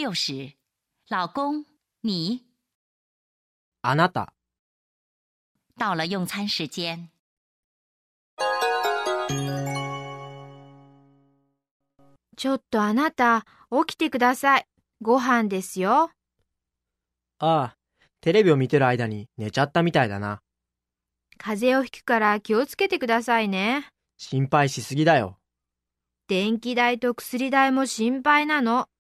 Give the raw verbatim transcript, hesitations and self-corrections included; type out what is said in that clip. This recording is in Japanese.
六时，老公，你。 あなた。 到了用餐时间。 ちょっとあなた、起きてください。ご飯ですよ。 ああ、テレビを見てる間に寝ちゃったみたいだな。 風邪をひくから気をつけてくださいね。 心配しすぎだよ。 電気代と薬代も心配なの。